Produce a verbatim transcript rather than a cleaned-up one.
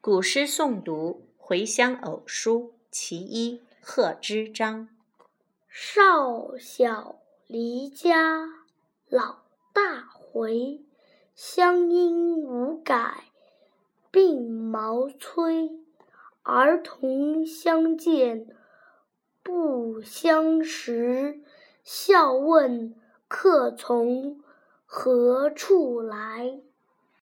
古诗诵读回乡偶书其一，贺知章。 少小离家老大回，乡音无改鬓毛衰。儿童相见不相识，笑问客从何处来。